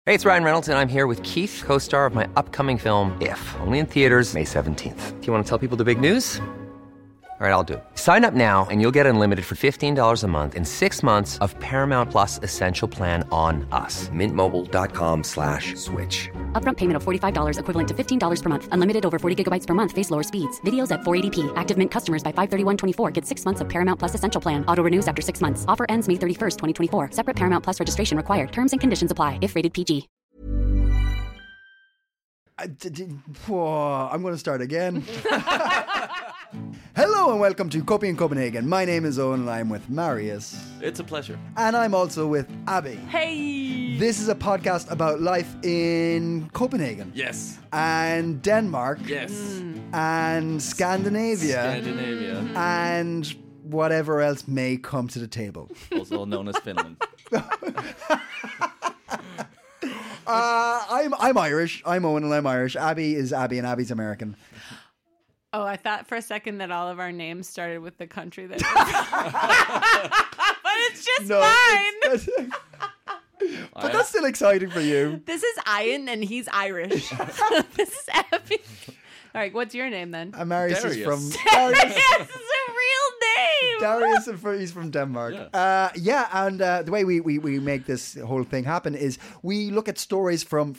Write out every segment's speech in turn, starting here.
Hey, it's Ryan Reynolds, and I'm here with Keith, co-star of my upcoming film, If, only in theaters May 17th. Do you want to tell people the big news? All right, I'll do it. Sign up now and you'll get unlimited for $15 a month and 6 months of Paramount Plus Essential Plan on us. MintMobile.com/switch. Upfront payment of $45 equivalent to $15 per month. Unlimited over 40 gigabytes per month. Face lower speeds. Videos at 480p. Active Mint customers by 531.24 get 6 months of Paramount Plus Essential Plan. Auto renews after 6 months. Offer ends May 31st, 2024. Separate Paramount Plus registration required. Terms and conditions apply if rated PG. I'm going to start again. Hello and welcome to Copy in Copenhagen. My name is Owen and I'm with Marius. It's a pleasure. And I'm also with Abby. Hey! This is a podcast about life in Copenhagen. Yes. And Denmark. Yes. And Scandinavia. And whatever else may come to the table. Also known as Finland. I'm Irish. I'm Owen and I'm Irish. Abby is Abby and Abby's American. Oh, I thought for a second that all of our names started with the country that. But it's just fine. But that's still exciting for you. This is Ian and he's Irish. This is Abby. All right, what's your name then? Marius is from Darius is a real name. Darius, he's from Denmark. And the way we make this whole thing happen is we look at stories from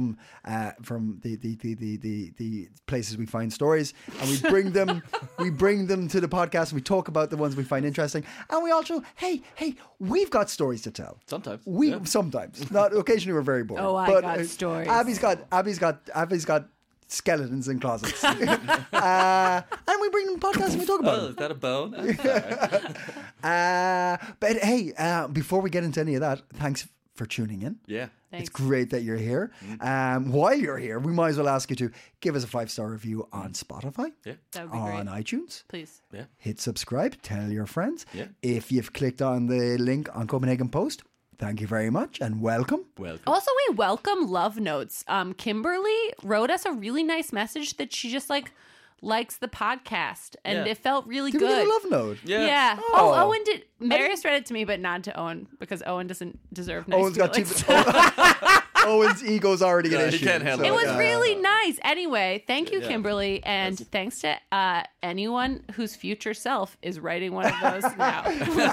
the places we find stories, and we bring them to the podcast, and we talk about the ones we find interesting, and we also we've got stories to tell. Sometimes sometimes not occasionally we're very bored. Oh, I got stories. Abby's got skeletons in closets. And we bring them podcasts and we talk about them. Is that a bone? But hey, before we get into any of that, thanks for tuning in. Yeah. Thanks. It's great that you're here. While you're here, we might as well ask you to give us a 5-star review on Spotify. Yeah. That would be on great. iTunes. Please. Yeah. Hit subscribe. Tell your friends. Yeah. If you've clicked on the link on Copenhagen Post, thank you very much and welcome. Also, we welcome love notes. Kimberly wrote us a really nice message that she just likes the podcast, and it felt really Did good. we get a love note? Yeah. Oh, Owen did. Marius read it to me, but not to Owen because Owen doesn't deserve nice Owen's got feelings. Owen's ego's already an issue. He can't handle It was Yeah. really nice. Anyway, thank you, Kimberly, and thanks to anyone whose future self is writing one of those now.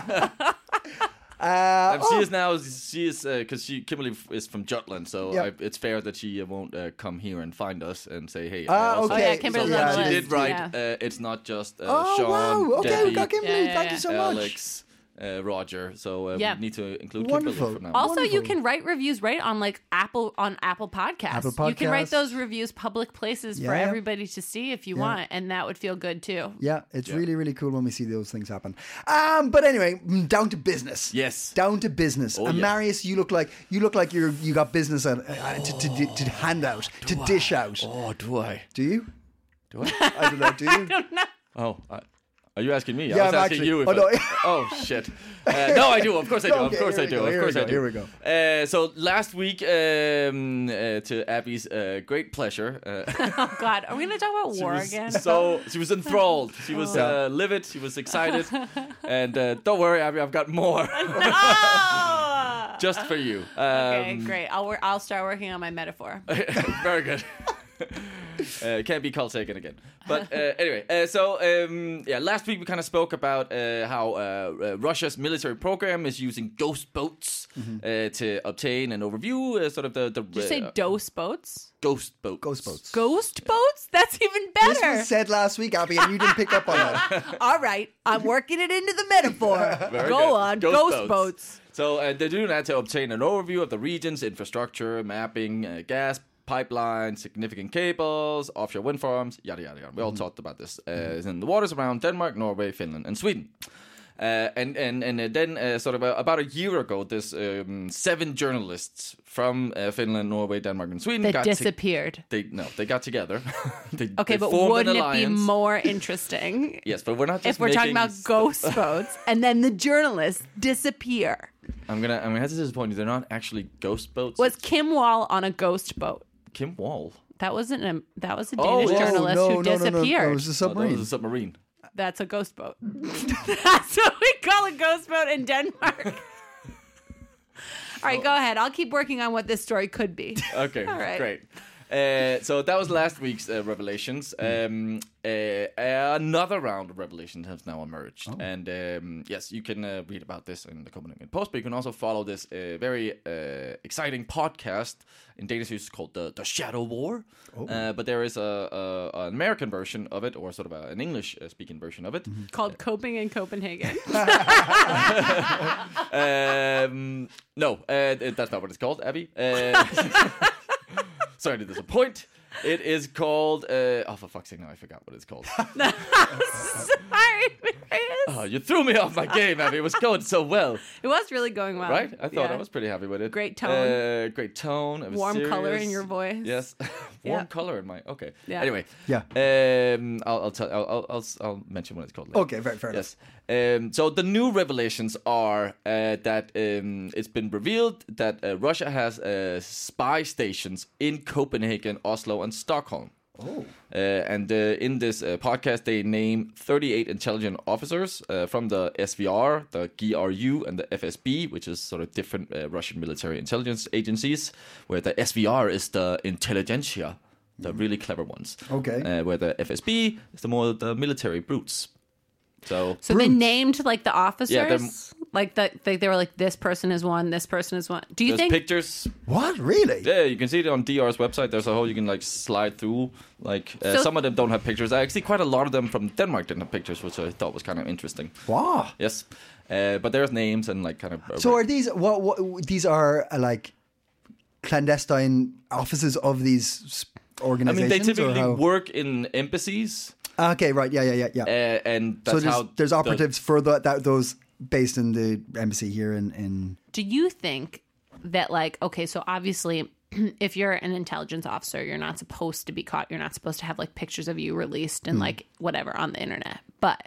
She is because Kimberly is from Jutland, so it's fair that she won't come here and find us and say, hey. Okay. Oh, yeah, Kimberly's on the She list. did write. Yeah. It's not just Oh, Sean, wow. Okay, Debbie, we got Kimberly. Yeah, Thank you so much. Alex, Roger. So we need to include Wonderful. Kimberly for now. Also, you Wonderful. can write reviews Apple Podcasts. Apple You can write Podcasts. those reviews public places for Yeah. everybody to see if you want, and that would feel good too. Yeah, it's really, really cool when we see those things happen. But anyway, down to business. Yes. Down to business. Oh, and yes. Marius, you look like you got business to hand out, dish out. Oh, do I? Do you? Do I? I don't know. Do you? Oh, are you asking me? Yeah, I was I'm asking actually- you. If oh, no. Oh shit! No, I do. Of course I do. Okay, of course I here we do. go, Of here course we I go, do. here we go. So last week, to Abby's great pleasure. Oh God, are we going to talk about war again? So she was enthralled. She was livid. She was excited. And don't worry, Abby, I've got more Oh! just for you. Okay, great. I'll start working on my metaphor. Very good. Can't be called taken again. But anyway, last week we kind of spoke about how Russia's military program is using ghost boats to obtain an overview, sort of the Did you say dose boats? ghost boats. Ghost boats. Ghost boats? That's even This better. was said last week, Abby, and you didn't pick up on that. All right, I'm working it into the metaphor. Very Go good. on, ghost boats. So they're doing that to obtain an overview of the region's infrastructure, mapping, gas pipelines, significant cables, offshore wind farms, yada yada yada. We all talked about this. It's in the waters around Denmark, Norway, Finland, and Sweden. And then sort of about a year ago, this 7 journalists from Finland, Norway, Denmark, and Sweden That disappeared. They got together. they But formed wouldn't an it be alliance. more interesting Yes, but we're not just if we're talking making about ghost boats and then the journalists disappear? I'm gonna have to disappoint you. They're not actually ghost boats. Was Kim Wall on a ghost boat? Kim Wall? That was a Danish Oh, journalist who disappeared. No, it was a Oh, submarine. that was a submarine. That's a ghost boat. That's what we call a ghost boat in Denmark. All right, go ahead. I'll keep working on what this story could be. Okay, All right. great. So that was last week's revelations. Another round of revelations has now emerged. And yes, you can read about this in the Copenhagen Post, but you can also follow this very exciting podcast in Danish it's called the Shadow War. But there is an American version of it, or sort of an English-speaking version of it. Called Coping in Copenhagen. No, that's not what it's called, Abby. Sorry to disappoint. It is called... for fuck's sake, now I forgot what it's called. Sorry, Marius. Oh, you threw me off my game, Abby. It was going so well. It was really going well. Right? I thought Yeah. I was pretty happy with it. Great tone. Great tone. It was Warm serious. color in your voice. Yes. Warm Yeah. color in my... Okay. Yeah. Anyway. Yeah. I'll mention when it's called later. Okay, fair enough. Yes. So the new revelations are that it's been revealed that Russia has spy stations in Copenhagen, Oslo, and Stockholm. And in this podcast, they name 38 intelligent officers from the SVR, the GRU, and the FSB, which is sort of different Russian military intelligence agencies, where the SVR is the intelligentsia, the really clever ones. Okay. Where the FSB is the military brutes. So they named like the officers. Yeah, like they were like, this person is one, this person is one. Do you there's think? pictures. What? Really? Yeah, you can see it on DR's website. There's a whole you can like slide through. Like So- some of them don't have pictures. Actually, quite a lot of them from Denmark didn't have pictures, which I thought was kind of interesting. Wow. Yes, but there's names and like kind of. So are these what these are like clandestine offices of these I organizations? mean, they or typically how? work in embassies, Okay, right. Yeah. and So that's how there's operatives for those based in the embassy here in. Do you think that like, okay, so obviously if you're an intelligence officer, you're not supposed to be caught. You're not supposed to have like pictures of you released and like whatever on the internet. But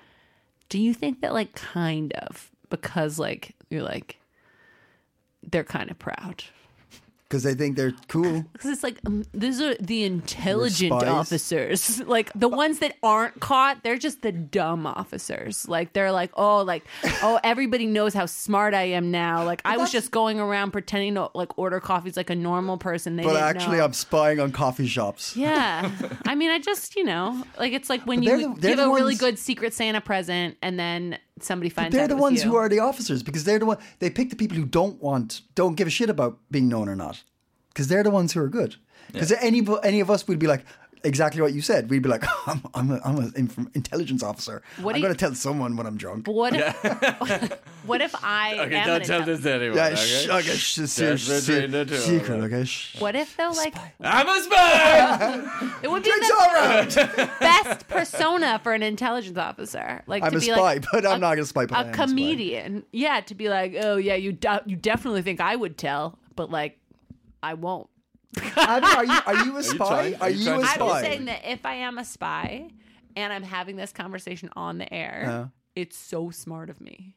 do you think that like kind of because like you're like they're kind of proud? Because they think they're cool. Because it's like, these are the intelligent spies. officers. Like, the ones that aren't caught, they're just the dumb officers. Like, they're like, oh, everybody knows how smart I am now. Like, I was just going around pretending to, like, order coffees like a normal person. They But didn't actually, know. I'm spying on coffee shops. Yeah. I mean, I just, like, it's like when But you they're give the a really ones- good Secret Santa present and then somebody finds They're out the it was ones you. who are the officers because they're the one. They pick the people who don't give a shit about being known or not. Because they're the ones who are good. Because any of us would be like exactly what you said. We'd be like, I'm an intelligence officer. What do I'm you- going to tell someone when I'm drunk. But what if, what if I Okay, am don't an tell intel- this to anyone. Yeah, okay? okay, between the two of secret. us. Okay, shh. What if though, like, I'm a spy. it would be Drinks the all around. best persona for an intelligence officer. Like I'm to a be spy, like but I'm not going to spy. But I a am spy. comedian. Yeah, to be like, oh yeah, you definitely think I would tell, but like, I won't. Abby, are you a spy? trying- Are are you you trying a to I'm spy? just saying that if I am a spy and I'm having this conversation on the air, it's so smart of me.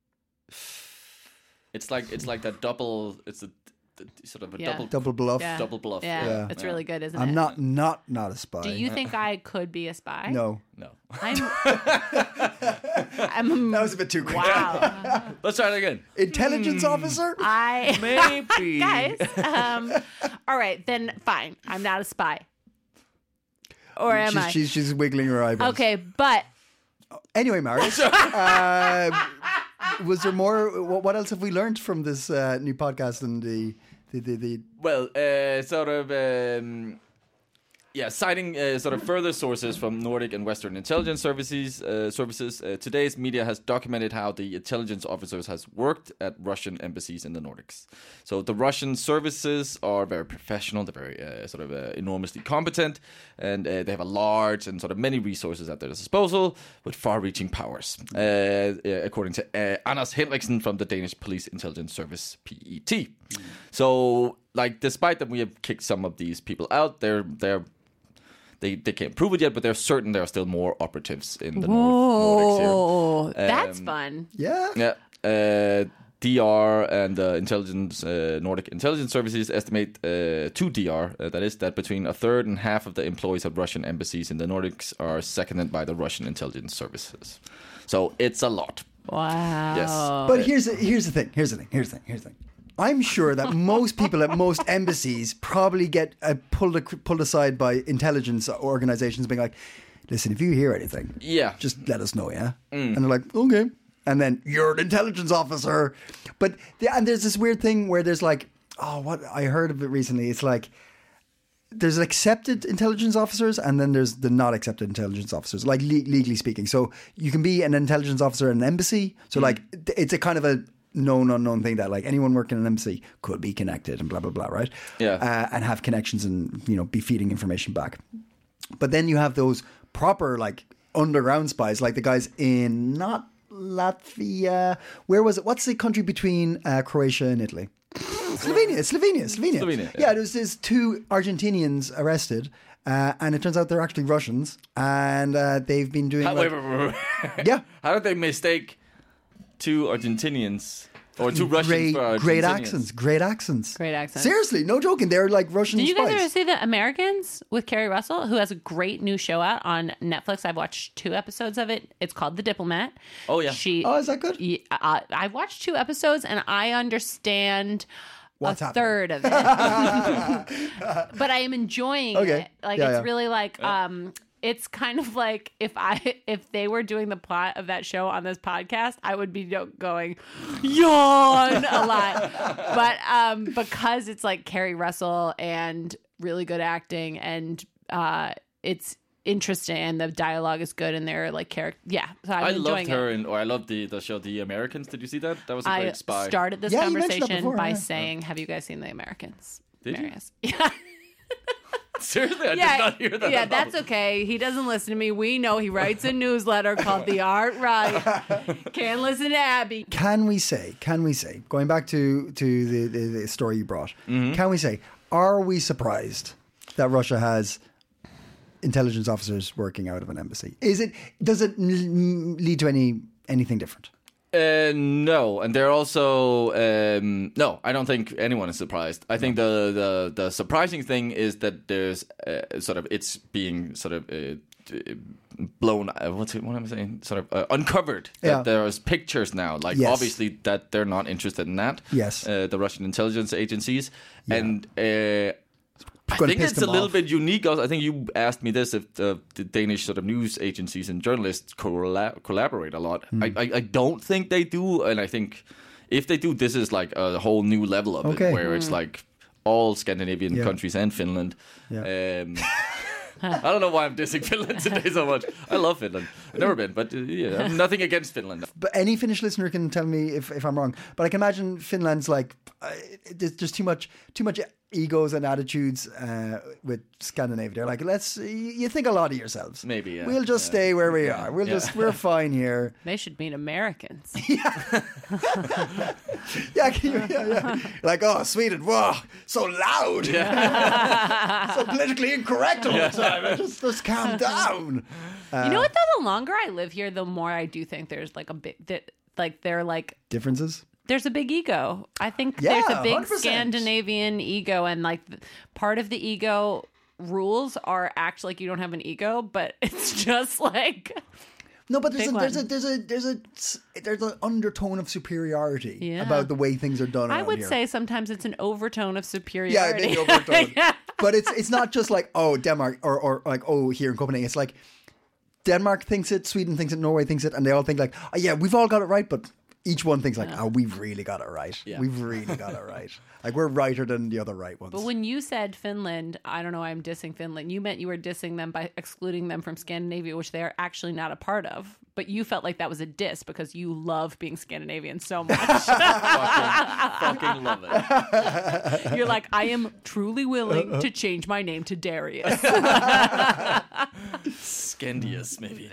It's like that double. It's a sort of a Yeah. Double bluff. Yeah. double bluff. Yeah, Yeah. it's really good, isn't I'm it? not a spy. Do you think I could be a spy? No. No. I'm That was a bit too quick. wow. Let's try it again. Intelligence officer? I Maybe. guys. All right, then fine. I'm not a spy. Or am I? She's wiggling her eyebrows. Okay, but Anyway, Marius, was there more? What else have we learned from this new podcast and the Well, sort of, citing sort of further sources from Nordic and Western intelligence services. Today's media has documented how the intelligence officers has worked at Russian embassies in the Nordics. So the Russian services are very professional. They're very sort of enormously competent, and they have a large and sort of many resources at their disposal with far-reaching powers, according to Anders Henriksen from the Danish Police Intelligence Service, PET. So, like, despite that we have kicked some of these people out, they can't prove it yet, but they're certain there are still more operatives in the Nordics here. oh, that's fun. yeah? Yeah. DR and Nordic Intelligence Services estimate to DR, that between a third and half of the employees of Russian embassies in the Nordics are seconded by the Russian intelligence services. So it's a lot. Wow. Yes. But here's the thing. I'm sure that most people at most embassies probably get pulled aside by intelligence organizations being like, listen, if you hear anything, just let us know, yeah? And they're like, okay. And then, you're an intelligence officer. But, and there's this weird thing where there's like, what I heard of it recently, it's like, there's accepted intelligence officers and then there's the not accepted intelligence officers, like legally speaking. So you can be an intelligence officer in an embassy. So like, it's a kind of a known, unknown thing that like anyone working in an embassy could be connected and blah, blah, blah, right? Yeah. And have connections and, be feeding information back. But then you have those proper like underground spies, like the guys in not Latvia. Where was it? What's the country between Croatia and Italy? Slovenia. Yeah, there's 2 Argentinians arrested, and it turns out they're actually Russians, and they've been doing. Wait. Yeah. How did they mistake 2 Argentinians or 2 Russians for Argentinians? Great accents. Seriously, no joking. They're like Russian Did you spies. guys ever see The Americans with Kerry Russell, who has a great new show out on Netflix? I've watched 2 episodes of it. It's called The Diplomat. Oh, yeah. Is that good? I watched 2 episodes, and I understand What's a third of it. But I am enjoying it. Like, it's really like... it's kind of like if they were doing the plot of that show on this podcast, I would be going yawn a lot. But because it's like Kerry Russell and really good acting, and it's interesting and the dialogue is good and they're like character. Yeah, so I'm enjoying loved her, I loved the show The Americans. Did you see that? That was a great spy. I started this conversation by saying, "Have you guys seen The Americans?" Did Marius. you? Yeah. Seriously, I did not hear that. Yeah, that's okay. He doesn't listen to me. We know he writes a newsletter called The Art Right. Can't listen to Abby. Can we say, going back to the story you brought, can we say, are we surprised that Russia has intelligence officers working out of an embassy? Does it lead to anything different? No, and they're also no. I don't think anyone is surprised. I think the surprising thing is that there's it's being blown. What am I saying? Uncovered. That there's pictures now. Like obviously that they're not interested in that. Yes, the Russian intelligence agencies and. I think it's a little bit unique. I think you asked me this, if the Danish news agencies and journalists collaborate a lot. I don't think they do. And I think if they do, this is like a whole new level of it, where it's like all Scandinavian countries and Finland. Yeah. I don't know why I'm dissing Finland today so much. I love Finland. I've never been, but I have nothing against Finland. But any Finnish listener can tell me if I'm wrong. But I can imagine Finland's like, there's just too much egos and attitudes with Scandinavia. They're like, you think a lot of yourselves. Maybe, yeah. We'll just stay where we are. We're fine here. They should meet Americans. Yeah. Like, oh, Sweden, whoa, so loud. Yeah. So politically incorrect all the time. Just calm down. You know what, though? The longer I live here, the more I do think there's like a bit, they're like... Differences? There's a big ego. I think there's a big 100%. Scandinavian ego, and like part of the ego rules are actually like you don't have an ego, but it's just like no. But there's an undertone of superiority about the way things are done. I would here. say sometimes it's an overtone of superiority. Yeah, maybe overtone. But it's not just like Denmark or like here in Copenhagen. It's like Denmark thinks it, Sweden thinks it, Norway thinks it, and they all think like we've all got it right, but. Each one thinks like, we've really got it right. Yeah. We've really got it right. Like, we're righter than the other right ones. But when you said Finland, I don't know why I'm dissing Finland. You meant you were dissing them by excluding them from Scandinavia, which they are actually not a part of. But you felt like that was a diss because you love being Scandinavian so much. fucking love it. You're like, I am truly willing to change my name to Darius. Scandius, maybe.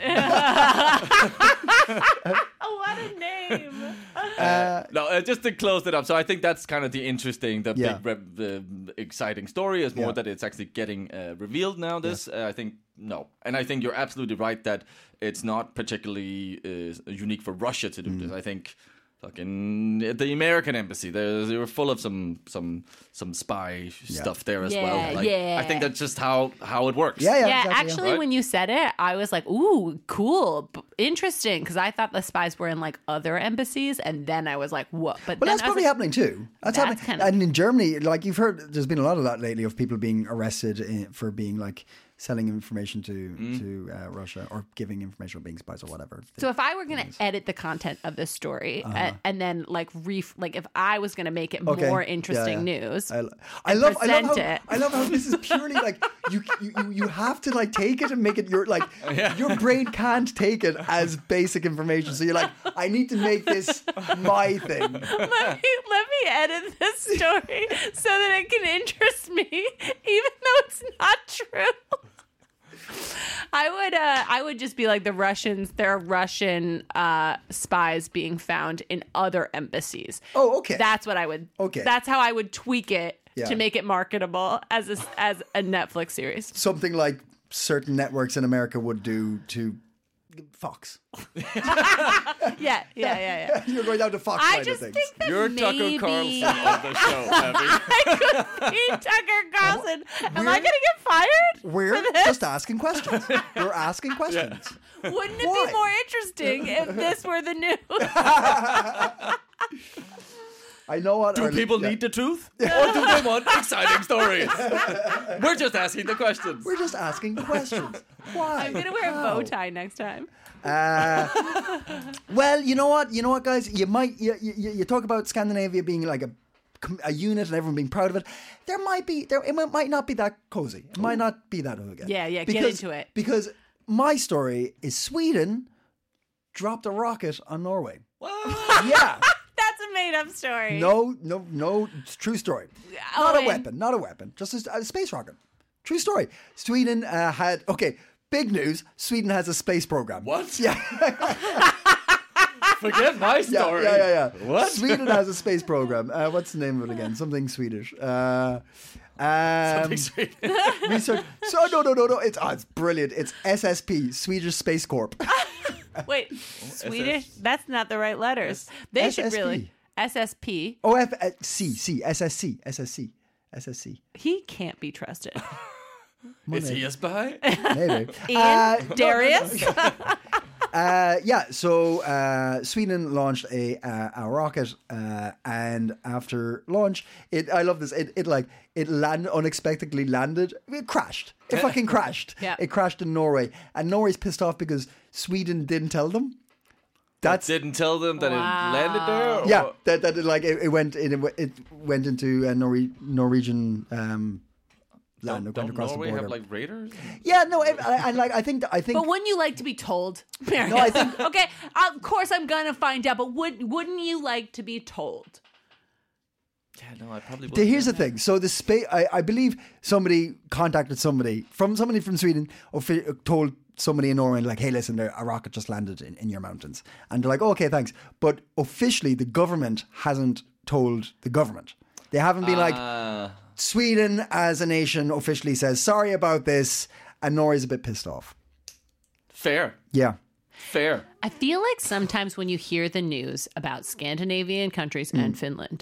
What a name. Just to close it up. So I think that's kind of the interesting, the exciting story is more that it's actually getting revealed now. I think no. And I think you're absolutely right that it's not particularly unique for Russia to do this. I think fucking the American embassy. They were full of some spy stuff there as well. I think that's just how it works. Yeah, Yeah, exactly, actually, Right? when you said it, I was like, ooh, cool, interesting, because I thought the spies were in like other embassies, and then I was like, what? But But then that's I was probably like, happening too. That's happening. kind of- And in Germany, like you've heard, there's been a lot of that lately of people being arrested for being like selling information to Russia or giving information or being spies or whatever. So if I were going to edit the content of this story and then like if I was going to make it more interesting news, I love present how it. I love how this is purely like you have to like take it and make it your brain can't take it as basic information. So you're like, I need to make this my thing. let me edit this story so that it can interest me, even though it's not true. I would just be like the Russians. There are Russian spies being found in other embassies. Oh, okay. That's what I would. Okay. That's how I would tweak it Yeah. to make it marketable as a Netflix series. Something like certain networks in America would do to Fox. Yeah. You're going down to Fox I side just of things. think that You're maybe Tucker Carlson of the show, Abby. I could be Tucker Carlson. Am I going to get fired? We're for this? just asking questions. We're asking questions. Wouldn't it Why? be more interesting if this were the news? I know what. Do people need the truth? Or do they want exciting stories? We're just asking the questions. We're just asking questions. Why? I'm gonna wear a bow tie next time. Well, you know what, guys. You talk about Scandinavia being like a unit and everyone being proud of it. It might not be that cozy. It might not be that good. Yeah, get into it. Because my story is Sweden dropped a rocket on Norway. Yeah. That's a made-up story. No, it's a true story. Not a weapon, just a space rocket. True story. Sweden had, big news, Sweden has a space program. What? Yeah. Forget my story. Yeah. What? Sweden has a space program. What's the name of it again? Something Swedish. Something sweet. Research. So no. It's brilliant. It's SSP, Swedish Space Corp. Wait, Swedish? That's not the right letters. They should SSP. really SSP. SSC. He can't be trusted. Is he a spy? Maybe. Ian Darius. So Sweden launched a rocket, and after launch, I love this. It unexpectedly landed. It crashed. It fucking crashed. Yeah. It crashed in Norway, and Norway's pissed off because Sweden didn't tell them. Didn't tell them that it landed there? Or? Yeah, it went into Norwegian land. Don't across Norway the border. have like raiders? Yeah, no, I think. But wouldn't you like to be told? No, I think. Okay, of course I'm gonna find out. But wouldn't you like to be told? Yeah, no, I probably would. Here's the thing. So the space, I believe somebody contacted somebody from Sweden, told somebody in Norway, like, hey, listen, a rocket just landed in your mountains. And they're like, oh, okay, thanks. But officially, the government hasn't told the government. They haven't been like, Sweden as a nation officially says, sorry about this. And Norway's a bit pissed off. Fair. Yeah. Fair. I feel like sometimes when you hear the news about Scandinavian countries and Finland,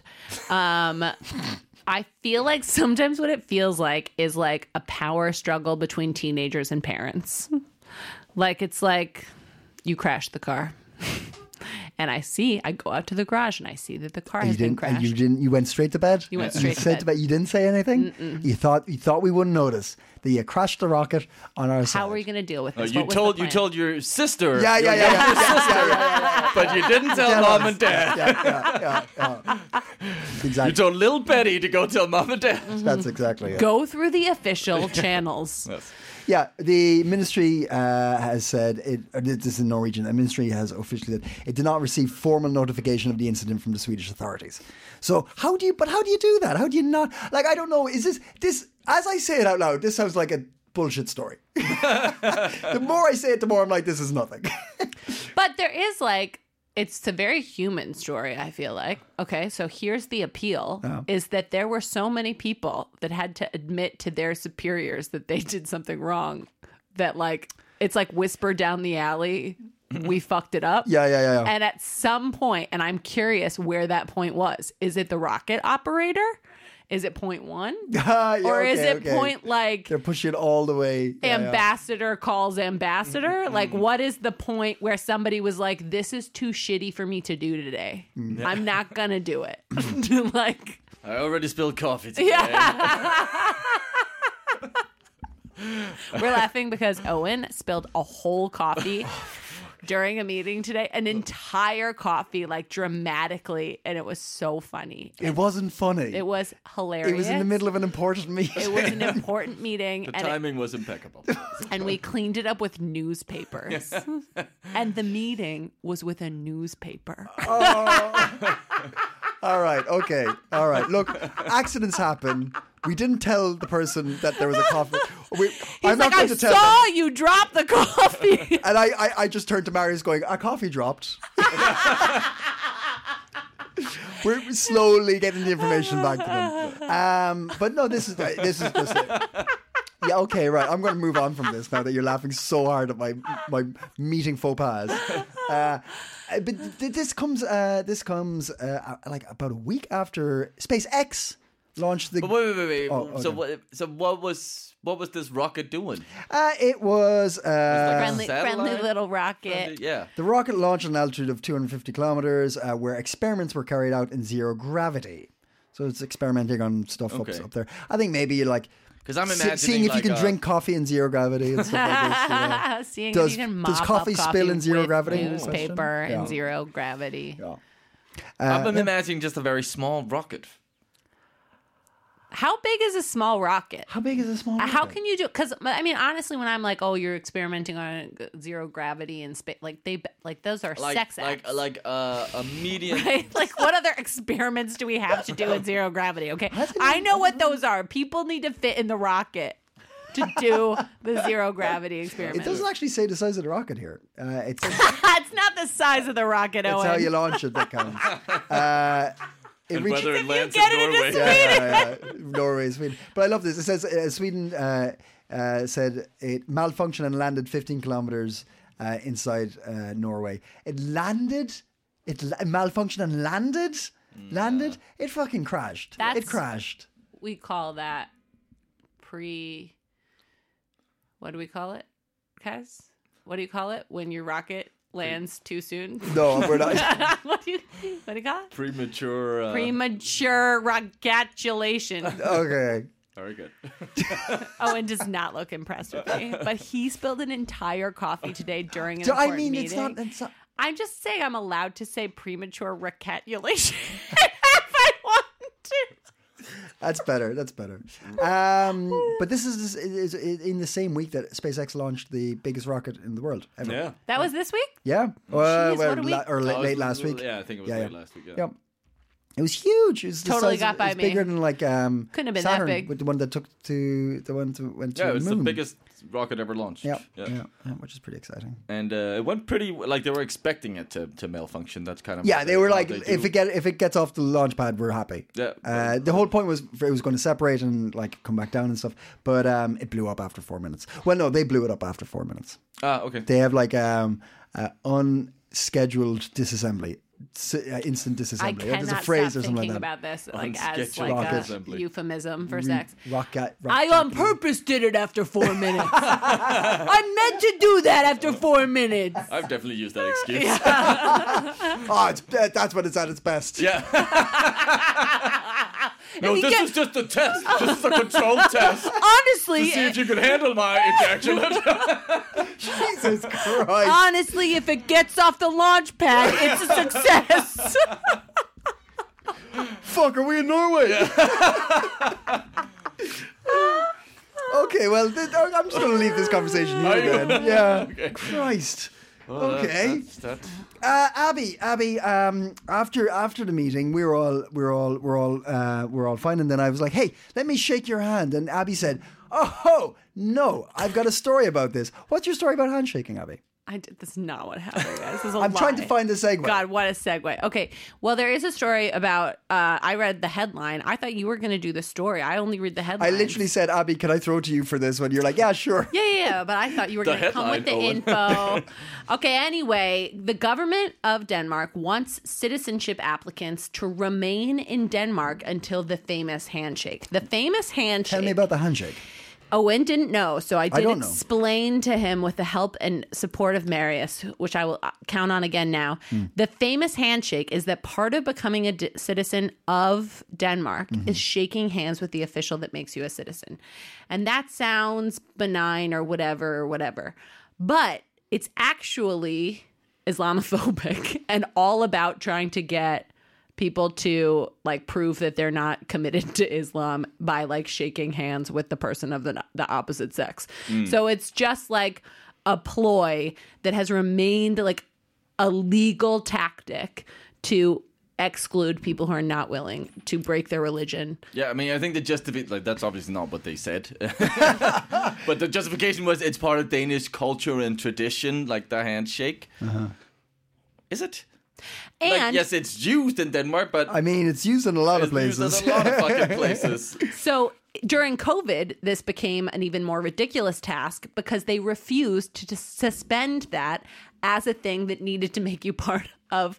I feel like sometimes what it feels like is like a power struggle between teenagers and parents. Like, it's like you crashed the car. And I go out to the garage and I see that the car has been crashed. You went straight to bed? You went straight to bed. You didn't say anything? You thought we wouldn't notice that you crashed the rocket on our side. How are you going to deal with this? You What was the plan? told your sister. Yeah. But you didn't tell mom and dad. Yeah. Exactly. You told little Betty to go tell mom and dad. That's exactly it. Go through the official channels. Yeah, the ministry has said, this is in Norwegian, the ministry has officially said it did not receive formal notification of the incident from the Swedish authorities. So how do you do that? How do you not, like, I don't know, is this, as I say it out loud, this sounds like a bullshit story. The more I say it, the more I'm like, this is nothing. But there is like, it's a very human story, I feel like. Okay, so here's the appeal, is that there were so many people that had to admit to their superiors that they did something wrong, that like, it's like whisper down the alley we fucked it up. Yeah. And at some point, and I'm curious where that point was. Is it the rocket operator? Is it point 1? Or is it point like they're pushing it all the way? ambassador calls ambassador? Like, what is the point where somebody was like, this is too shitty for me to do today. I'm not going to do it. Like, I already spilled coffee today. yeah. We're laughing because Owen spilled a whole coffee during a meeting today, an entire coffee, like dramatically, and it was so funny. It wasn't funny. It was hilarious. It was in the middle of an important meeting. It was an important meeting. The timing was impeccable. And we cleaned it up with newspapers. And the meeting was with a newspaper. All right, okay. All right. Look, accidents happen. We didn't tell the person that there was a coffee. He's like, I saw you drop the coffee. And I just turned to Marius going, a coffee dropped. We're slowly getting the information back to them. But no, this is just it. Yeah, okay, right. I'm going to move on from this now that you're laughing so hard at my meeting faux pas. But this comes like about a week after SpaceX launched the. But wait. Oh, okay. So what was this rocket doing? It was like friendly little rocket. Yeah. the rocket launched at an altitude of 250 kilometers, where experiments were carried out in zero gravity. So it's experimenting on stuff up there. I think maybe like. Because I'm imagining seeing if you can drink coffee in zero gravity and stuff like this. You know. Seeing Does- if you can does mop coffee up spill in zero with gravity? newspaper Yeah. in zero gravity. Yeah. I'm imagining just a very small rocket. How big is a small rocket? How big is a small rocket? How can you do? Because I mean, honestly, when I'm like, "Oh, you're experimenting on zero gravity and space," like those are sex acts, like a medium. right? Like, what other experiments do we have to do in zero gravity? Okay, I know what those are. People need to fit in the rocket to do the zero gravity experiment. It doesn't actually say the size of the rocket here. It's not the size of the the It's Owen. how you launch it that counts. It And reaches whether it lands get in it into Norway. Sweden. Norway, Sweden. But I love this. It says Sweden said it malfunctioned and landed 15 kilometers inside Norway. It landed. It malfunctioned and landed. Landed. It fucking crashed. It crashed. We call that what do we call it, Kaz? What do you call it when your rocket lands too soon? No, we're not. what do you call it? Premature. Premature rogatulation. Okay. Very good. Owen does not look impressed with me, but he spilled an entire coffee today during an important meeting. It's not. I'm just saying I'm allowed to say premature rogatulation if I want to. That's better. But this is in the same week that SpaceX launched the biggest rocket in the world ever. Yeah. That was this week? Yeah. Jeez, what a week. Late last week. Yeah, I think it was late last week. Yeah. Yep. It was huge. It was the Totally size got of, by it was me. bigger than like Couldn't have been Saturn, that big. with the one that went to Yeah, it the was moon. the biggest rocket ever launched. Yeah, which is pretty exciting. And it went pretty like they were expecting it to malfunction. That's kind of Yeah, they were like, do. if it gets off the launch pad, we're happy. Yeah. The whole point was it was going to separate and like come back down and stuff, but it blew up after 4 minutes. Well, no, they blew it up after 4 minutes. Okay. They have like unscheduled disassembly. Instant I disassembly. There's cannot a phrase stop or something thinking like that. about this like as Unscheduled like a assembly. euphemism for sex. Rocket. I on purpose did it after 4 minutes. I meant to do that after 4 minutes. I've definitely used that excuse. Oh, that's when it's at its best. Yeah. No, you this get- is just a test. This is a control test to Honestly, see if you can handle my ejaculate. Jesus Christ. honestly, if it gets off the launch pad, it's a success. Fuck, are we in Norway? Okay, well, I'm just going to leave this conversation Are here you? then. Yeah. Okay. Christ. Well, Okay. that's Abby. After the meeting, we're all fine, and then I was like, "Hey, let me shake your hand," and Abby said, "Oh no, I've got a story about this. What's your story about handshaking, Abby?" This is not what happened, guys. This is a I'm trying to lie. find the segue. God, what a segue. Okay, well, there is a story about, I read the headline. I thought you were going to do the story. I only read the headline. I literally said, Abby, can I throw to you for this one? You're like, yeah, sure. Yeah, but I thought you were going to come with the headline, info. Okay, anyway, the government of Denmark wants citizenship applicants to remain in Denmark until the famous handshake. The famous handshake. Tell me about the handshake. Owen didn't know, so I did don't know. explain to him with the help and support of Marius, which I will count on again now. The famous handshake is that part of becoming a citizen of Denmark is shaking hands with the official that makes you a citizen. And that sounds benign or whatever. But it's actually Islamophobic and all about trying to get people to like prove that they're not committed to Islam by like shaking hands with the person of the opposite sex. So it's just like a ploy that has remained like a legal tactic to exclude people who are not willing to break their religion. Yeah, I mean, I think the justification, like, that's obviously not what they said. But the justification was it's part of Danish culture and tradition, like the handshake. Is it? And Like, yes, it's used in Denmark, but I mean, it's used in a lot of it's used places. in a lot of fucking places. so during COVID, this became an even more ridiculous task because they refused to suspend that as a thing that needed to make you part of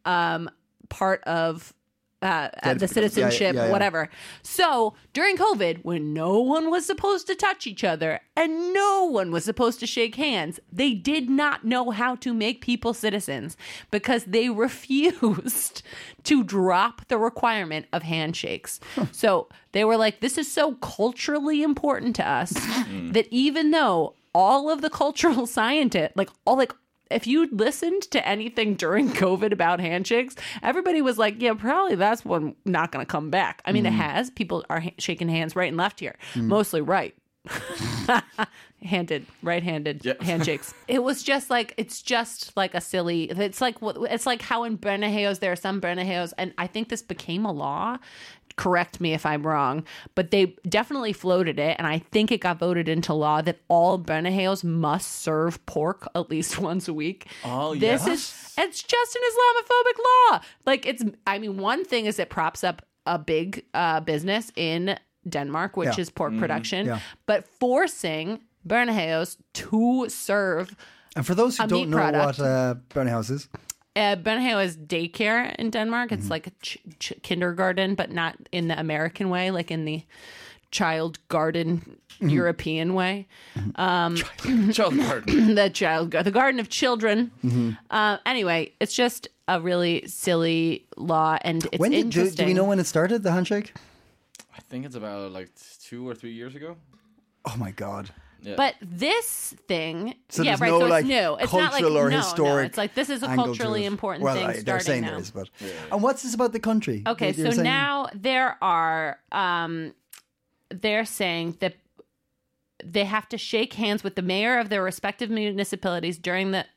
the citizenship, yeah. whatever. So during COVID, when no one was supposed to touch each other and no one was supposed to shake hands, they did not know how to make people citizens because they refused to drop the requirement of handshakes. So they were like, this is so culturally important to us that even though all of the cultural scientists, if you listened to anything during COVID about handshakes, everybody was like, yeah, probably that's one not going to come back. I mean, it has. People are shaking hands right and left here, mostly right. Right-handed handshakes. It was just like, it's just like a silly, it's like how in Børnehaves, there are some Børnehaves, and I think this became a law. Correct me if I'm wrong, but they definitely floated it, and I think it got voted into law that all Børnehaves must serve pork at least once a week. Oh, it's just an Islamophobic law. One thing is it props up a big business in Denmark, which is pork production, but forcing Børnehaves to serve And for those who don't know product. what Børnehave is, Børnehave is daycare in Denmark. It's like a kindergarten, but not in the American way, like in the child garden European way. Child garden. The garden of children. Anyway, it's just a really silly law, and it's interesting. Do we know when it started, the handshake? I think it's about like 2 or 3 years ago. Oh my God. Yeah. But this thing, So yeah, there's right. no, so like, it's new. It's not like cultural or no. historic It's like this is a angle to culturally it. important Well, thing they're starting saying now. there is, but and what's this about the country? Okay, You're so saying- now there are, they're saying that they have to shake hands with the mayor of their respective municipalities during the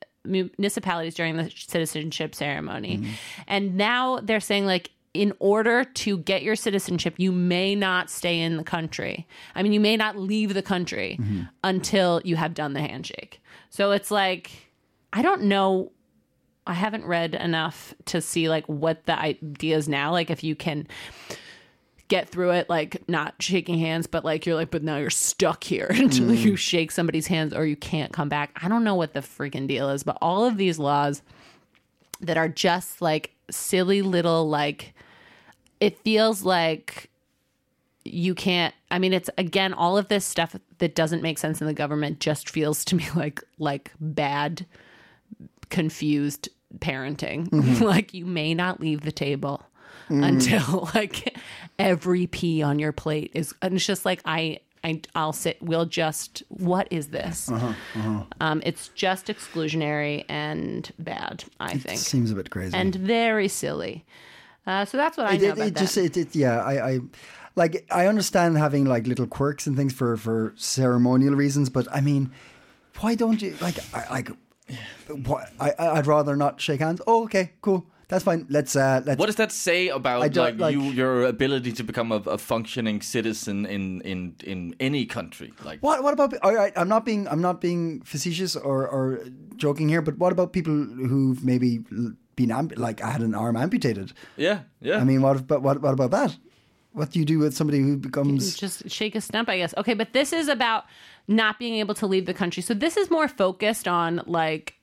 citizenship ceremony. And now they're saying, like, in order to get your citizenship, you may not stay in the country. I mean, you may not leave the country until you have done the handshake. So it's like, I don't know. I haven't read enough to see like what the idea is now. Like if you can get through it, like not shaking hands, but like you're like, but now you're stuck here until you shake somebody's hands or you can't come back. I don't know what the freaking deal is, but all of these laws that are just like silly little, like, it feels like you can't, I mean, it's again, all of this stuff that doesn't make sense in the government just feels to me like bad, confused parenting. Like you may not leave the table until like every pea on your plate is, and it's just like, I'll sit, we'll just, what is this? It's just exclusionary and bad, I think. It seems a bit crazy. And very silly. So that's what I know about that. I understand having like little quirks and things for ceremonial reasons, but I mean, why don't you I'd rather not shake hands. Oh, okay, cool. That's fine. Let's. What does that say about I don't like- your ability to become a functioning citizen in any country? Like What about? All right, I'm not being facetious or joking here, but what about people who've maybe been had an arm amputated? yeah. I mean, what about that? What do you do with somebody who becomes? Just shake a stump, I guess. Okay, but this is about not being able to leave the country. So this is more focused on like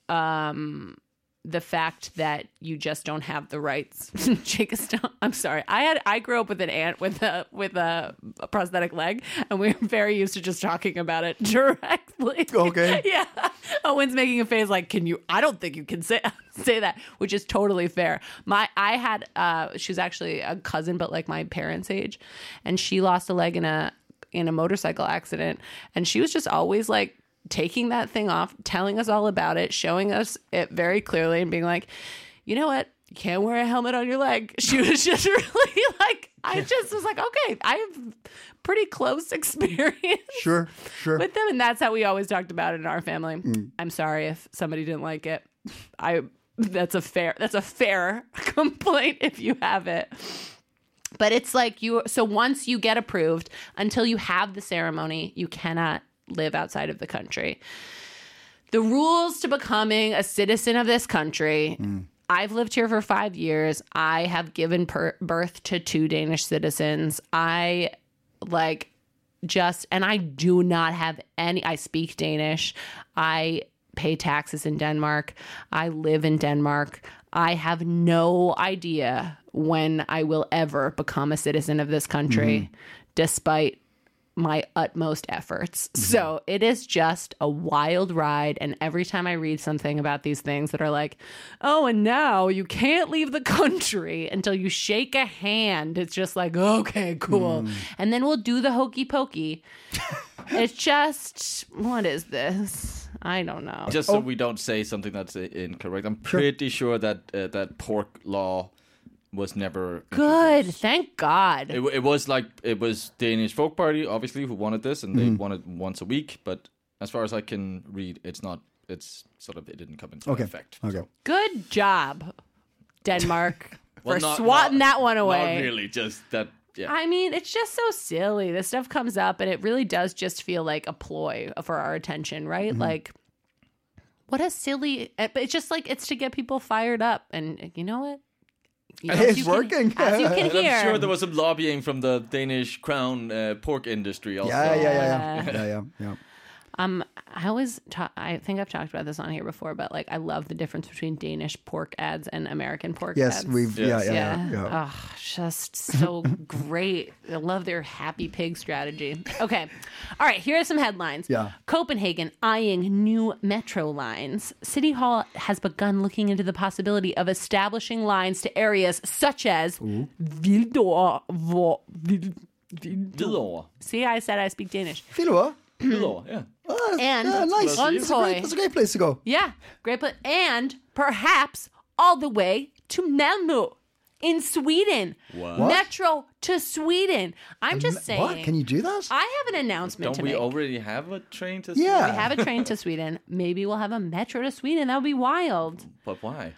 the fact that you just don't have the rights. Shake a stump. I'm sorry. I grew up with an aunt with a prosthetic leg, and we were very used to just talking about it directly. Okay. Yeah. Owen's making a face like, I don't think you can say that, which is totally fair. She was actually a cousin, but like my parents' age, and she lost a leg in a motorcycle accident, and she was just always like taking that thing off, telling us all about it, showing us it very clearly, and being like, you know what? You can't wear a helmet on your leg. She was just really like, I just was like, okay, I have pretty close experience Sure. with them, and that's how we always talked about it in our family. I'm sorry if somebody didn't like it. That's a fair complaint if you have it. But it's like so once you get approved, until you have the ceremony, you cannot live outside of the country. The rules to becoming a citizen of this country, I've lived here for 5 years. I have given birth to 2 Danish citizens. And I do not have I speak Danish. I pay taxes in Denmark. I live in Denmark. I have no idea when I will ever become a citizen of this country, despite my utmost efforts. So it is just a wild ride. And every time I read something about these things that are like, oh, and now you can't leave the country until you shake a hand, it's just like, okay, cool. And then we'll do the hokey pokey. It's just, what is this? I don't know. Just so we don't say something that's incorrect. I'm pretty sure that that pork law was never Good. introduced. Thank God. It was Danish Folk Party, obviously, who wanted this, and they wanted once a week. But as far as I can read, it's not. It's sort of it didn't come into effect. Okay. So. Good job, Denmark, Well, for not- swatting not- that one away. Not really, just that. Yeah. I mean, it's just so silly. This stuff comes up, and it really does just feel like a ploy for our attention, right? Like, what a silly. But it's just like, it's to get people fired up. And you know what? It's working. As you can And hear. I'm sure there was some lobbying from the Danish crown pork industry also. Yeah. I think I've talked about this on here before, but like I love the difference between Danish pork ads and American pork Yes, ads. we've. Yes. Yeah. Oh, just so great. I love their happy pig strategy. Okay. All right. Here are some headlines. Yeah. Copenhagen eyeing new metro lines. City Hall has begun looking into the possibility of establishing lines to areas such as Hvidovre. Hvidovre. See, I said I speak Danish. Hvidovre? Hvidovre, yeah. And Nice. Brøndshøj. That's a great place to go. Yeah, great place. And perhaps all the way to Malmö in Sweden. What? Metro to Sweden. I'm just saying. What? Can you do that? I have an announcement Don't to we make. already have a train to Yeah. We have a train to Sweden. Maybe we'll have a metro to Sweden. That would be wild. But why?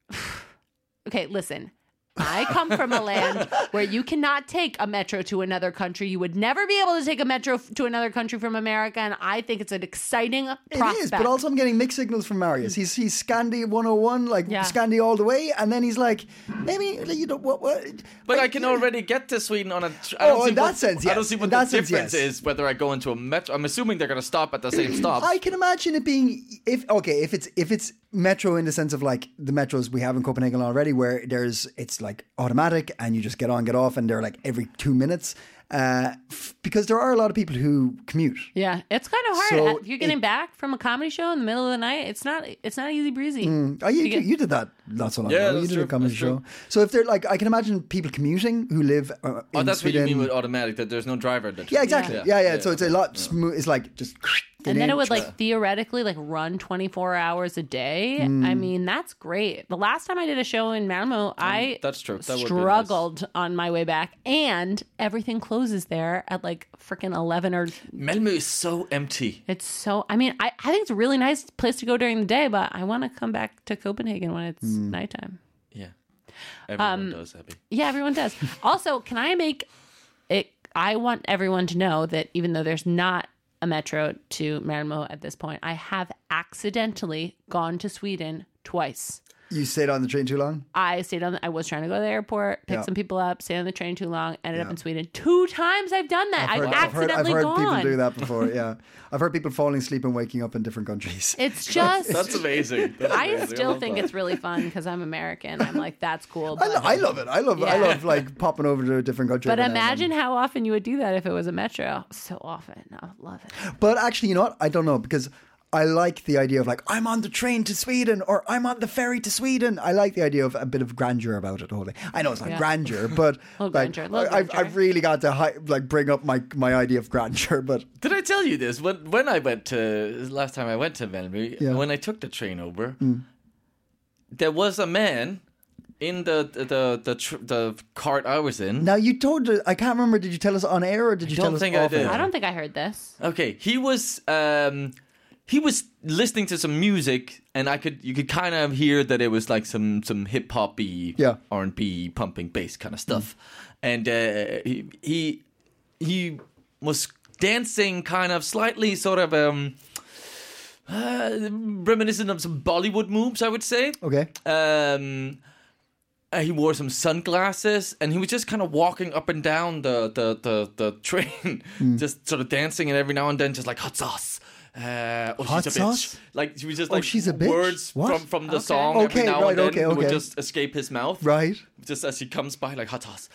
Okay, listen. I come from a land where you cannot take a metro to another country. You would never be able to take a metro to another country from America, and I think it's an exciting prospect. It is, but also I'm getting mixed signals from Marius. He's Scandi 101, like Yeah. Scandi all the way, and then he's like, maybe you know what? But like, I can already get to Sweden on a. In that sense, yes. I don't see what In the that sense, difference yes. is whether I go into a metro. I'm assuming they're going to stop at the same stop. I can imagine it being if it's metro in the sense of like the metros we have in Copenhagen already, where it's like automatic and you just get on, get off, and they're like every 2 minutes. Because there are a lot of people who commute. Yeah, it's kind of hard. So If you're getting back from a comedy show in the middle of the night, it's not easy breezy. You did that not so long Yeah, ago. You that's did a true, comedy that's show. true. So if they're like, I can imagine people commuting who live in Oh, that's Sweden. what you mean with automatic, that there's no driver. Yeah, exactly. Yeah. So it's a lot smooth. It's like just. And then it would like theoretically like run 24 hours a day. I mean, that's great. The last time I did a show in Malmö, I that's true. That would be struggled on my way back, and everything closes there at like freaking 11 or. Malmö is so empty. It's so. I mean, I think it's a really nice place to go during the day, but I want to come back to Copenhagen when it's nighttime. Yeah. Everyone does, Abby. Yeah, everyone does. Also, can I make it? I want everyone to know that even though there's not a metro to Malmö at this point, I have accidentally gone to Sweden twice. You stayed on the train too long? I was trying to go to the airport, pick Yeah. some people up, stayed on the train too long, ended up in Sweden. 2 times I've done that. I've accidentally I've heard gone. people do that before, yeah. I've heard people falling asleep and waking up in different countries. It's just... That's amazing. That's I amazing. still love think that. it's really fun because I'm American. I'm like, that's cool. I love it. I love like popping over to a different country. But every now and imagine how often you would do that if it was a metro. So often. I love it. then. But actually, you know what? I don't know because I like the idea of like, I'm on the train to Sweden or I'm on the ferry to Sweden. I like the idea of a bit of grandeur about it. The whole thing. I know it's not grandeur, but Little like, grandeur. I've really got to bring up my idea of grandeur. But Did I tell you this? When I went to last time I went to Malmö, Yeah. when I took the train over, there was a man in the cart I was in. now you told, I can't remember, did you tell us on air or did you don't tell us think I off did. air? I don't think I heard this. Okay, he was listening to some music, and you could kind of hear that it was like some hip hoppy, Yeah. R&B pumping bass kind of stuff, and he was dancing kind of slightly sort of reminiscent of some Bollywood moves, I would say. Okay. He wore some sunglasses, and he was just kind of walking up and down the train, just sort of dancing, and every now and then just like hot sauce. Hot she's a sauce? bitch. Like she was just Oh, like she's a bitch? words What? from the Okay. song Okay, every now right, and then okay, would okay. just escape his mouth, Right. just as he comes by like hot sauce.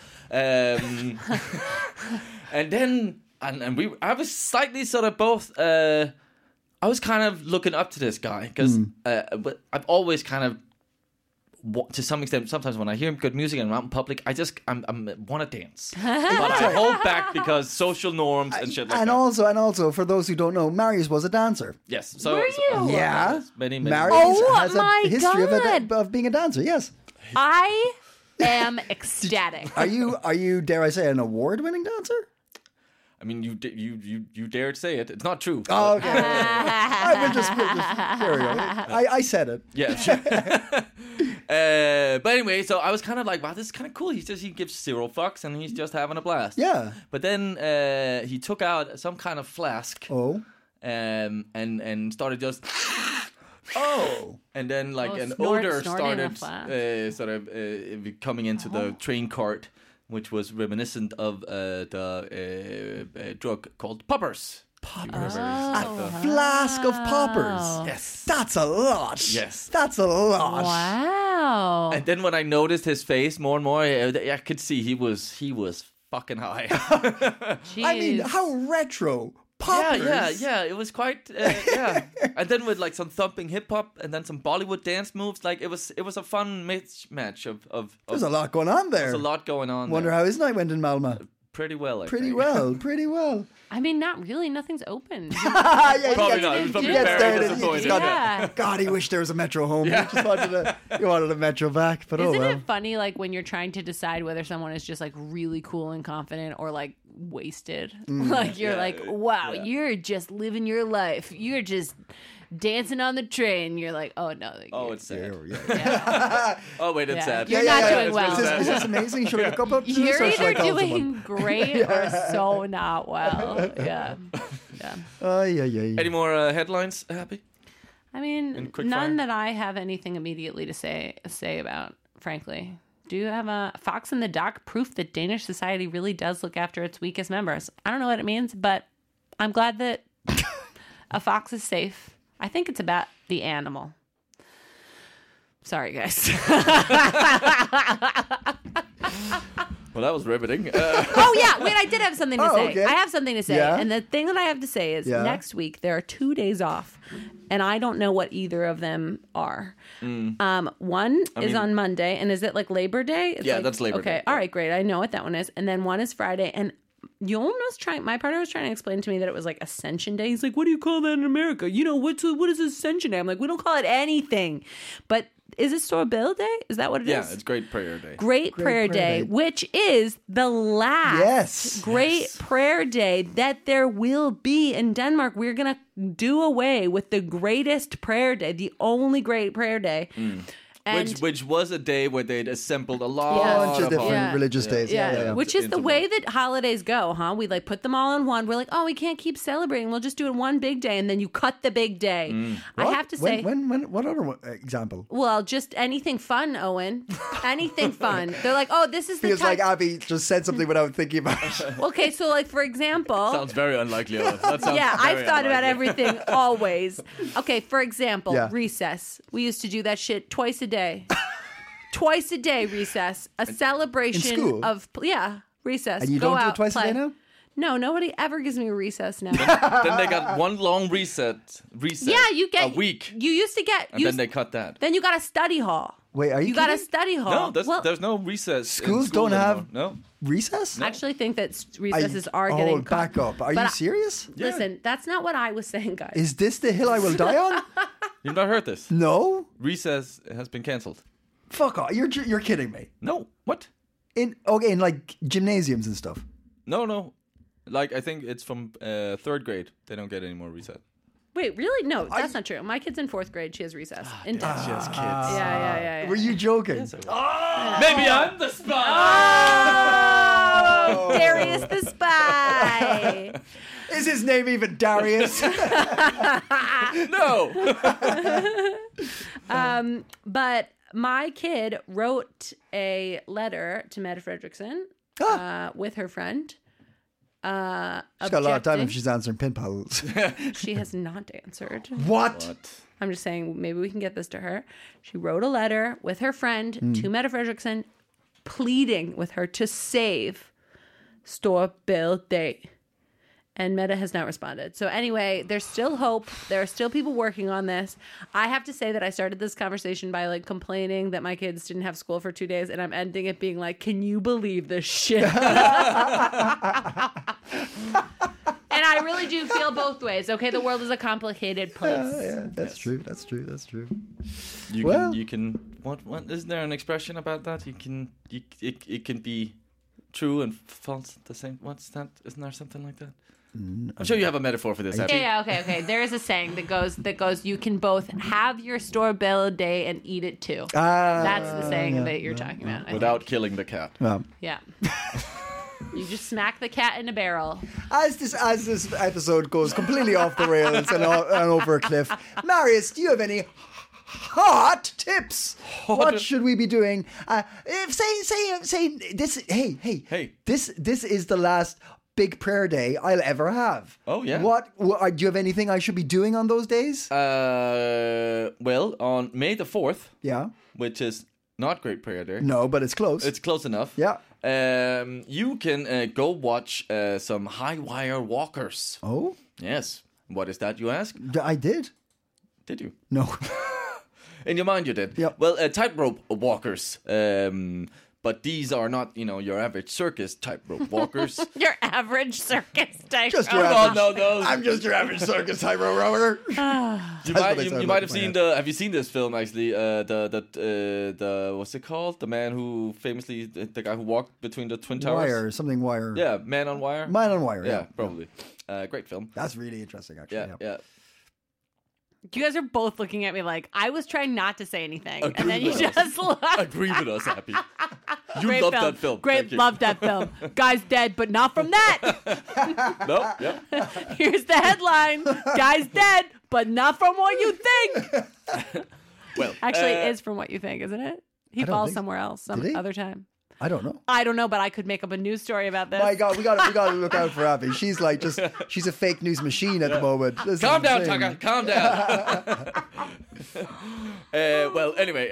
And then I was slightly sort of both. I was kind of looking up to this guy because but I've always kind of. To some extent, sometimes when I hear good music and I'm out in public, I want to dance, but I hold back because social norms and shit like And that. also, for those who don't know, Marius was a dancer. Yes, so Were you? Yeah. many. Marius Oh has my a history God. of being a dancer. Yes. I am ecstatic. Are you dare I say an award-winning dancer? I mean, you dared say it. It's not true. Oh, okay. I will just there we go. I said it. Yeah. But anyway, so I was kind of like, wow, this is kind of cool. He gives 0 fucks and he's just having a blast. Yeah. But then he took out some kind of flask. Oh. And started just. Oh. And then like Oh, an snorting odor a started flask. sort of coming into the train cart, which was reminiscent of the drug called poppers. Poppers. A flask of poppers. Yes. That's a lot. Yes. That's a lot. Wow. And then when I noticed his face more and more, I could see he was fucking high. I mean, Jeez. how retro. Poppers. Yeah. It was quite, yeah. And then with like some thumping hip hop and then some Bollywood dance moves, like it was a fun mismatch of. There's a lot going on there. There's a lot going on. Wonder there. how his night went in Malmö. Pretty well. I Pretty think. well. Pretty well. I mean, not really. Nothing's open. Yeah, Probably he not. He gets- was probably he gets very there and disappointed. he's got Yeah. God, he wished there was a metro home. He just wanted a metro back, but Isn't oh well. it funny, like, when you're trying to decide whether someone is just, like, really cool and confident or, like, wasted? Like, you're like, wow, you're just living your life. You're just dancing on the train. You're like, oh, no. Like, Oh, you're- it's sad. yeah. Oh, wait, it's Yeah. sad. You're not doing it's well. really sad. Is this amazing? Should I look up to this You're or should I either call doing someone? great or so not well. Yeah. Yeah. Any more headlines, Happy? I mean, In quick none fire? that I have anything immediately to say about, frankly. Do you have a Fox in the Dock proof that Danish society really does look after its weakest members? I don't know what it means, but I'm glad that a fox is safe. I think it's about the animal. Sorry, guys. Well, that was riveting. Oh, yeah. Wait, I did have something to say. okay. I have something to say. Yeah? And the thing that I have to say is Yeah? next week there are 2 days off. And I don't know what either of them are. One is on Monday. And is it like Labor Day? It's Yeah, like- that's Labor okay. Day. All right, great. I know what that one is. And then one is Friday. And my partner was trying to explain to me that it was like Ascension Day. He's like, what do you call that in America? You know, what is Ascension Day? I'm like, we don't call it anything. But is it Storbill Day? Is that what it is? Yeah, it's Great Prayer Day. Great Prayer Day, which is the last Yes. Great Prayer Day that there will be in Denmark. We're going to do away with the greatest prayer day, the only Great Prayer Day. And which was a day where they'd assembled a lot bunch of different Yeah. religious days. Yeah. Which is the Into way that holidays go, huh? We like put them all in one. We're like, oh, we can't keep celebrating. We'll just do it one big day, and then you cut the big day. I have to say, when what other example? well, just anything fun, Owen. Anything fun. They're like, oh, this is the Feels time. like Abby just said something without thinking about it. Okay, so like for example, Sounds very unlikely. That sounds yeah, very I've thought about unlikely. everything always. Okay, for example, Yeah. recess. We used to do that shit twice a day. Twice a day recess. A celebration In school? of recess. And you Go don't do out, it twice play. a day now? No, nobody ever gives me a recess now. Then they got one long reset Yeah, you get a week, You used to get and then they cut that. then you got a study hall. Wait, are you got a kidding? study hall. No, well, there's no recess. in Schools school don't have- anymore. No. Recess? I actually think that recesses are getting cut. back up. Are But you I- serious? Listen, that's not what I was saying, guys. Is this the hill I will die on? You've not heard this? No. Recess has been cancelled. Fuck off. You're kidding me. No. What? In like gymnasiums and stuff. No. Like I think it's from third grade. They don't get any more recess. Wait, really? No, that's not true. My kid's in 4th grade. She has recess. Intense. She has kids. Yeah. Were you joking? Maybe I'm the spy. Oh, Darius the spy. Is his name even Darius? No. But my kid wrote a letter to Mette Fredrickson with her friend. She's got a lot of time if she's answering pin paddles. She has not answered. What? I'm just saying, maybe we can get this to her. She wrote a letter with her friend to Mette Fredrickson, pleading with her to save Storebælt Day. And Mette has not responded. So anyway, there's still hope. There are still people working on this. I have to say that I started this conversation by like complaining that my kids didn't have school for 2 days, and I'm ending it being like, can you believe this shit? And I really do feel both ways. Okay, the world is a complicated place. Yeah, that's true. That's true. You can. What? Isn't there an expression about that? It can be true and false at the same. What's that? Isn't there something like that? I'm sure you have a metaphor for this. Abby. Yeah, okay. There is a saying that goes. You can both have your Storebælt Day and eat it too. That's the saying that you're talking about. I think. Without killing the cat. Yeah. You just smack the cat in a barrel. As this episode goes completely off the rails and over a cliff, Marius, do you have any hot tips? What should we be doing? If say this. Hey. This is the last big prayer day I'll ever have. Oh, yeah. What do you have anything I should be doing on those days? Well, on May the 4th, Yeah. which is not Great Prayer Day. No, but it's close. It's close enough. Yeah. You can go watch some high wire walkers. Oh, Yes. What is that, you ask? I did. Did you? No. In your mind, you did. Yep. Well, tightrope walkers. But these are not, your average circus tightrope walkers. Your average circus type. Just your Oh, average. no. I'm just your average circus tightrope rower. You what they sound might like have in my seen head. Have you seen this film actually? The what's it called? The man who famously the guy who walked between the twin towers. Wire. Yeah, Man on Wire. Man on Wire. Yeah, probably. Great film. That's really interesting, actually. Yeah. You guys are both looking at me like I was trying not to say anything, Agree and then you with us. just look. Agree with us, Happy. You Great loved film. that film. Great, Thank you. loved that film. Guy's dead, but not from that. No, yeah. Here's the headline: Guy's dead, but not from what you think. Well, Actually, it is from what you think, isn't it? He don't falls think- somewhere else some Did he? other time. I don't know. I don't know, but I could make up a news story about this. My God, we got to look out for Abby. She's like she's a fake news machine at the moment. This is calm down, insane. Tucker. Calm down. Well, anyway,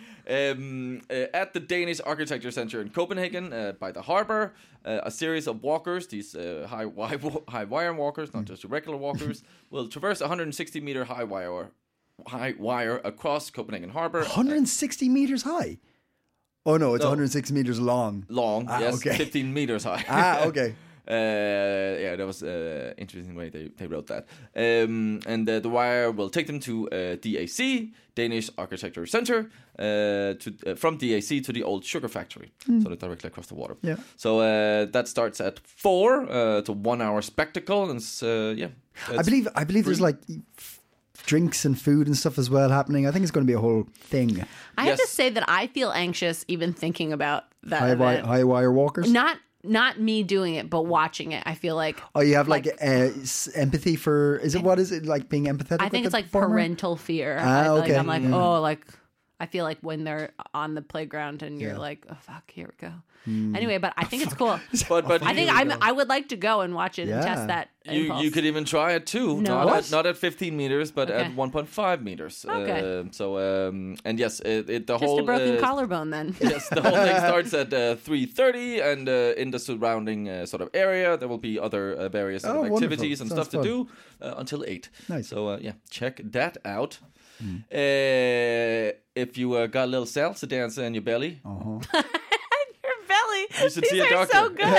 at the Danish Architecture Center in Copenhagen, by the harbor, a series of walkers, these high wire walkers, not just regular walkers, will traverse 160-meter high wire across Copenhagen Harbor. 160 meters high. Oh no, it's 106 meters long. Long, yes, okay. 15 meters high. Okay. Yeah, that was interesting way they wrote that. And the wire will take them to DAC, Danish Architecture Center, from DAC to the old sugar factory. So they're directly across the water. Yeah. So that starts at 4. It's a 1 hour spectacle, and I believe there's like drinks and food and stuff as well happening. I think it's going to be a whole thing. I have to say that I feel anxious even thinking about that event. High wire walkers. Not me doing it, but watching it. I feel like you have like empathy for. What is it like being empathetic? I think with it's like performer? parental fear. Okay. I'm like, oh, like I feel like when they're on the playground and you're like, oh fuck, here we go. Anyway, but I think it's cool. But I think I would like to go and watch it and test that. You could even try it too. No. Not at 15 meters, but at 1.5 meters. Okay. And yes, the Just whole a broken collarbone then. Yes, the whole thing starts at 3:30, and in the surrounding sort of area, there will be other various sort of activities and stuff to do until 8. Nice. So check that out. If you got a little salsa dancer in your belly, you should see a doctor. So good.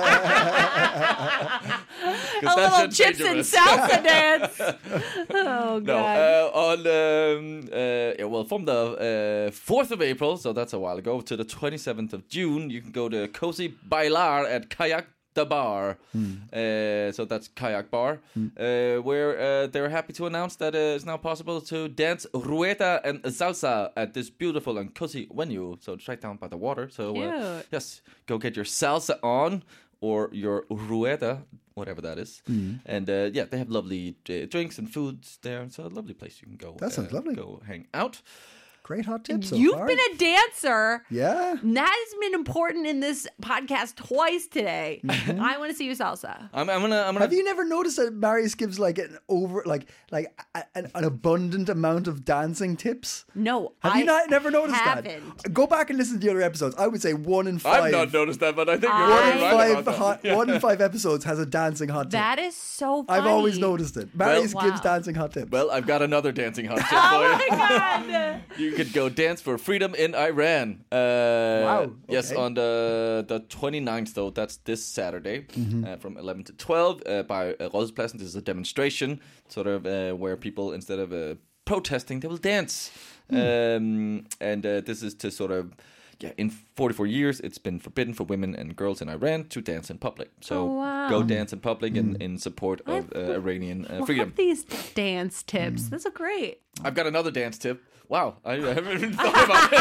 A little chips and salsa dance. Oh god. From the 4th of April, so that's a while ago, to the 27th of June, you can go to Cozy Bailar at Kayak the Bar. So that's Kayak Bar, where they're happy to announce that it's now possible to dance rueda and salsa at this beautiful and cozy venue. So it's right down by the water. So yes, go get your salsa on or your rueda, whatever that is. And they have lovely drinks and foods there. So a lovely place you can go. That sounds lovely. Go hang out. Great hot tips. You've far. been a dancer. Yeah. That has been important in this podcast twice today. I want to see you salsa. I'm gonna. Have you never noticed that Marius gives like an an abundant amount of dancing tips? No, Have you never noticed that? Go back and listen to the other episodes. I would say 1 in 5. I've not noticed that, but I think you're 1 in 5 episodes has a dancing hot tip. That is so funny. I've always noticed it. Marius gives dancing hot tips. Well, I've got another dancing hot tip for Oh you. my god. You could go dance for freedom in Iran. Wow. Okay. Yes, on the 29th, though. That's this Saturday from 11 to 12 by Rådhuspladsen. This is a demonstration, sort of where people, instead of protesting, they will dance. And this is to sort of... Yeah, in 44 years, it's been forbidden for women and girls in Iran to dance in public. So go dance in public in support of Iranian freedom. Love these dance tips. That's a great. I've got another dance tip. Wow, I haven't even thought about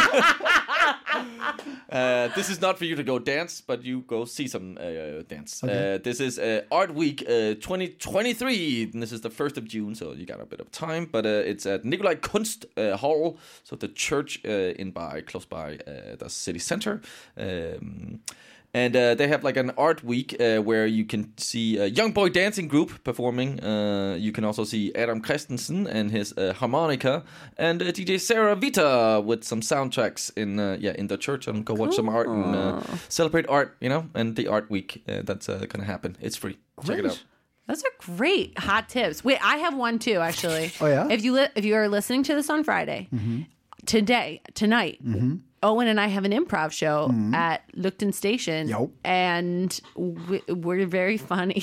it. This is not for you to go dance, but you go see some dance. Okay. This is Art Week 2023, and this is the 1st of June, so you got a bit of time. But it's at Nikolai Kunst Hall, so the church close by the city center. And they have like an art week where you can see a young boy dancing group performing. You can also see Adam Christensen and his harmonica, and DJ Sarah Vita with some soundtracks in the church, and go watch some art and celebrate art, and the art week that's gonna happen. It's free. Check it out. Those are great hot tips. Wait, I have one too, actually. Oh yeah. If you are listening to this on Friday, tonight. Owen and I have an improv show at Lugton Station, and we're very funny.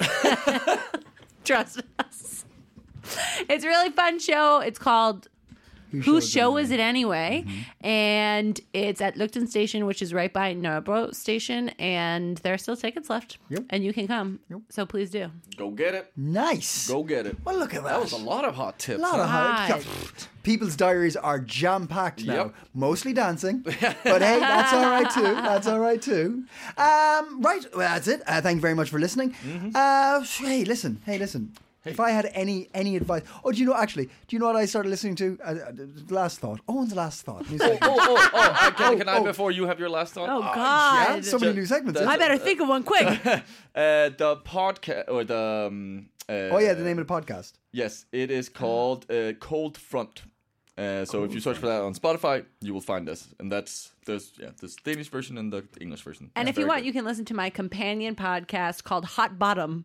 Trust us. It's a really fun show. It's called Whose Show Is It Anyway? And it's at Lugton Station, which is right by Nørrebro Station, and there are still tickets left, and you can come. So please do. Go get it. Nice. Go get it. Well, look at that. That was a lot of hot tips. A lot of hot. People's diaries are jam-packed now. Yep. Mostly dancing. But hey, that's all right too. That's all right too. Right, well, that's it. Thank you very much for listening. Hey, listen. If I had any advice... Oh, do you know what I started listening to? Last Thought. Owen's Last Thought. Can I before you have your last thought? Oh, God. Yeah, so many new segments. I better think of one quick. The podcast, or the... the name of the podcast. Yes, it is called Cold Front. So if you search for that on Spotify, you will find us. And there's this Danish version and the English version. And if you want, you can listen to my companion podcast called Hot Bottom.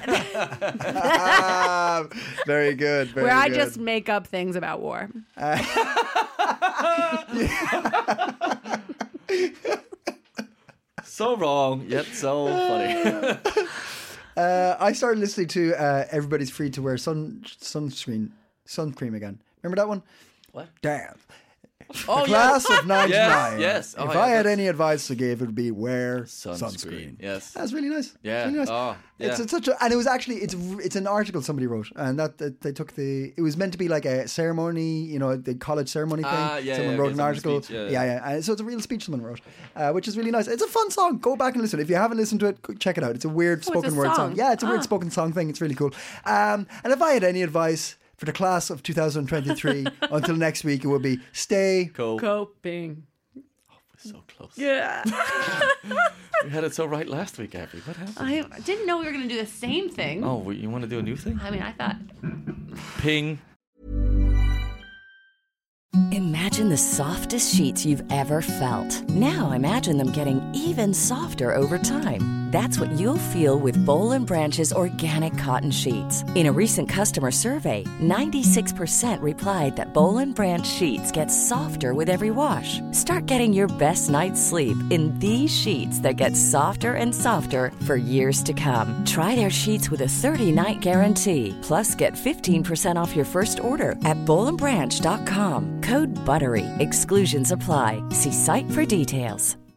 Very good. Where I just make up things about war. So wrong, yet so funny. I started listening to Everybody's Free to Wear Sun Cream again. Remember that one? What? Damn. Oh, Class of 99. Yes. If I had any advice to give, it would be wear sunscreen. Yes. That's really nice. Yeah. Really nice. Oh, yeah. It's such a, and it was actually it's an article somebody wrote, and that they took it was meant to be like a ceremony, the college ceremony thing. Someone wrote an article. Speech, And so it's a real speech someone wrote, which is really nice. It's a fun song. Go back and listen. If you haven't listened to it, check it out. It's a weird spoken word song. Yeah, it's a weird spoken song thing. It's really cool. And if I had any advice for the class of 2023 until next week, it would be stay Coping. So close. Yeah. We had it so right last week, Abby. What happened? I didn't know we were going to do the same thing. Oh, you want to do a new thing? I mean, I thought... Ping. Imagine the softest sheets you've ever felt. Now imagine them getting even softer over time. That's what you'll feel with Boll & Branch's organic cotton sheets. In a recent customer survey, 96% replied that Boll & Branch sheets get softer with every wash. Start getting your best night's sleep in these sheets that get softer and softer for years to come. Try their sheets with a 30-night guarantee. Plus, get 15% off your first order at bollandbranch.com. Code BUTTERY. Exclusions apply. See site for details.